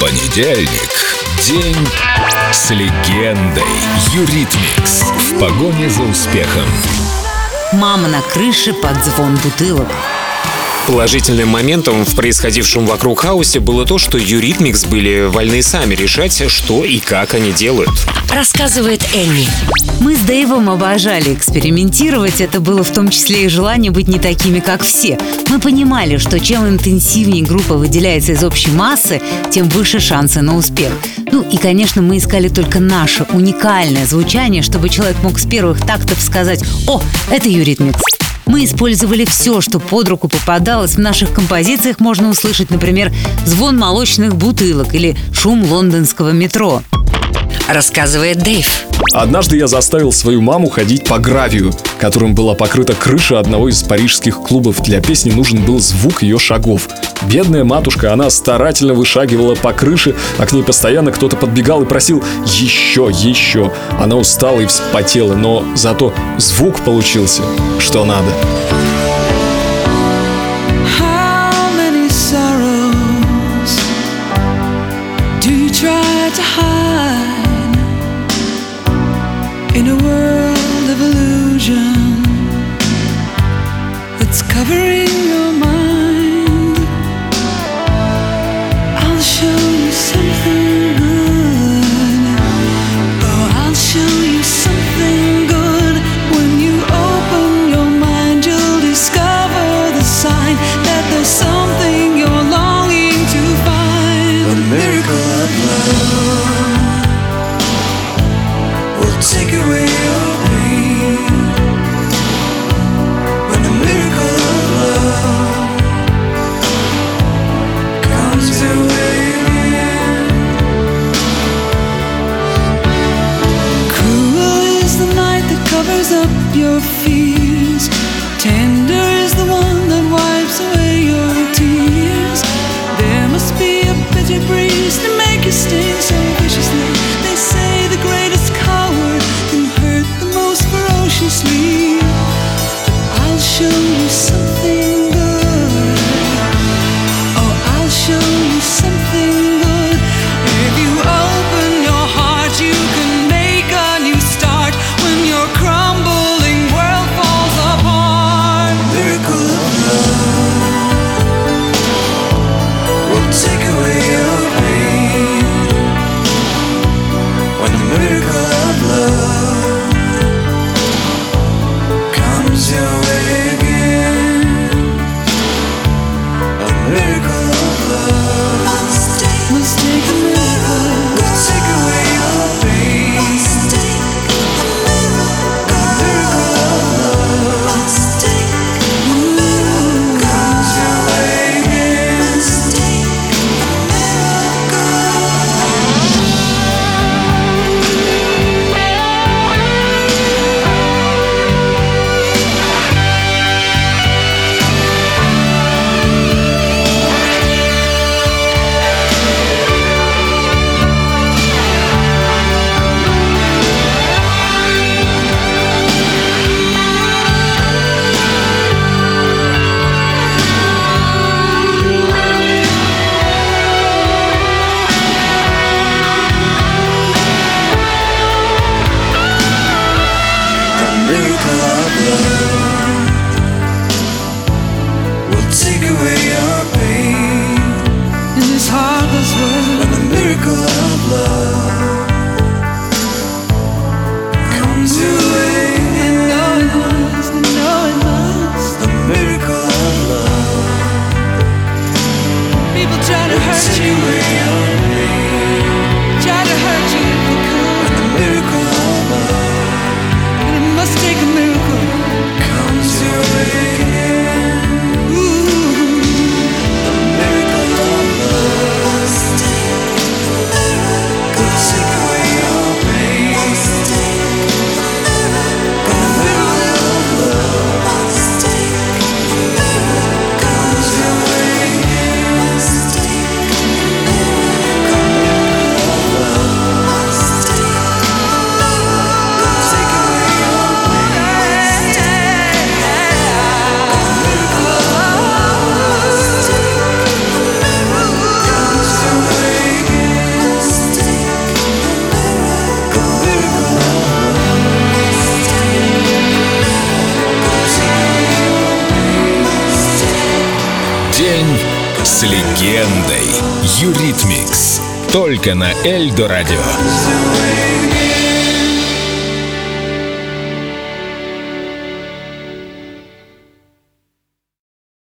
Понедельник. День с легендой. Юритмикс. В погоне за успехом. Мама на крыше под звон бутылок. Положительным моментом в происходившем вокруг хаосе было то, что Юритмикс были вольны сами решать, что и как они делают. Рассказывает Энни. Мы с Дэйвом обожали экспериментировать. Это было в том числе и желание быть не такими, как все. Мы понимали, что чем интенсивнее группа выделяется из общей массы, тем выше шансы на успех. И, конечно, мы искали только наше уникальное звучание, чтобы человек мог с первых тактов сказать: «О, это Юритмикс». Мы использовали все, что под руку попадалось. В наших композициях можно услышать, например, звон молочных бутылок или шум лондонского метро. Рассказывает Дэйв. Однажды я заставил свою маму ходить по гравию, которым была покрыта крыша одного из парижских клубов. Для песни нужен был звук ее шагов. Бедная матушка, она старательно вышагивала по крыше, а к ней постоянно кто-то подбегал и просил «еще, еще». Она устала и вспотела, но зато звук получился что надо. In a world of illusion that's covering your mind, I'll show you something good. Oh, I'll show you something good. When you open your mind, you'll discover the sign that there's something you're longing to find. A miracle of love will take away your pain. When the miracle of love comes your way again. Cruel is the night that covers up your fears. Tender is the one that wipes away your tears. There must be a bitter breeze to make you sting so viciously. They say the greatest coward can hurt the most ferociously. I'll show you something good. Oh, I'll show you something good. If you open your heart, you can make a new start. When your crumbling world falls apart, miracle of love will take away your pain. When the miracle of love comes your way again. A miracle of love must take a miracle, will take away your pain. A miracle of love must take a miracle, comes your way again. Must take a miracle. Miracle of love will take away your pain. In this heartless world, when the miracle of love comes your way, and know it must, and know it must. The miracle of love. People try to hurt you, try to hurt you if they could. When the miracle of love must take a miracle, comes your way again. Ooh, the miracle of love must take a miracle, will take away your pain. Must take a miracle, the miracle of love must take a miracle, comes your way again. Must take a miracle. День с легендой. Юритмикс. Только на Эльдо Радио.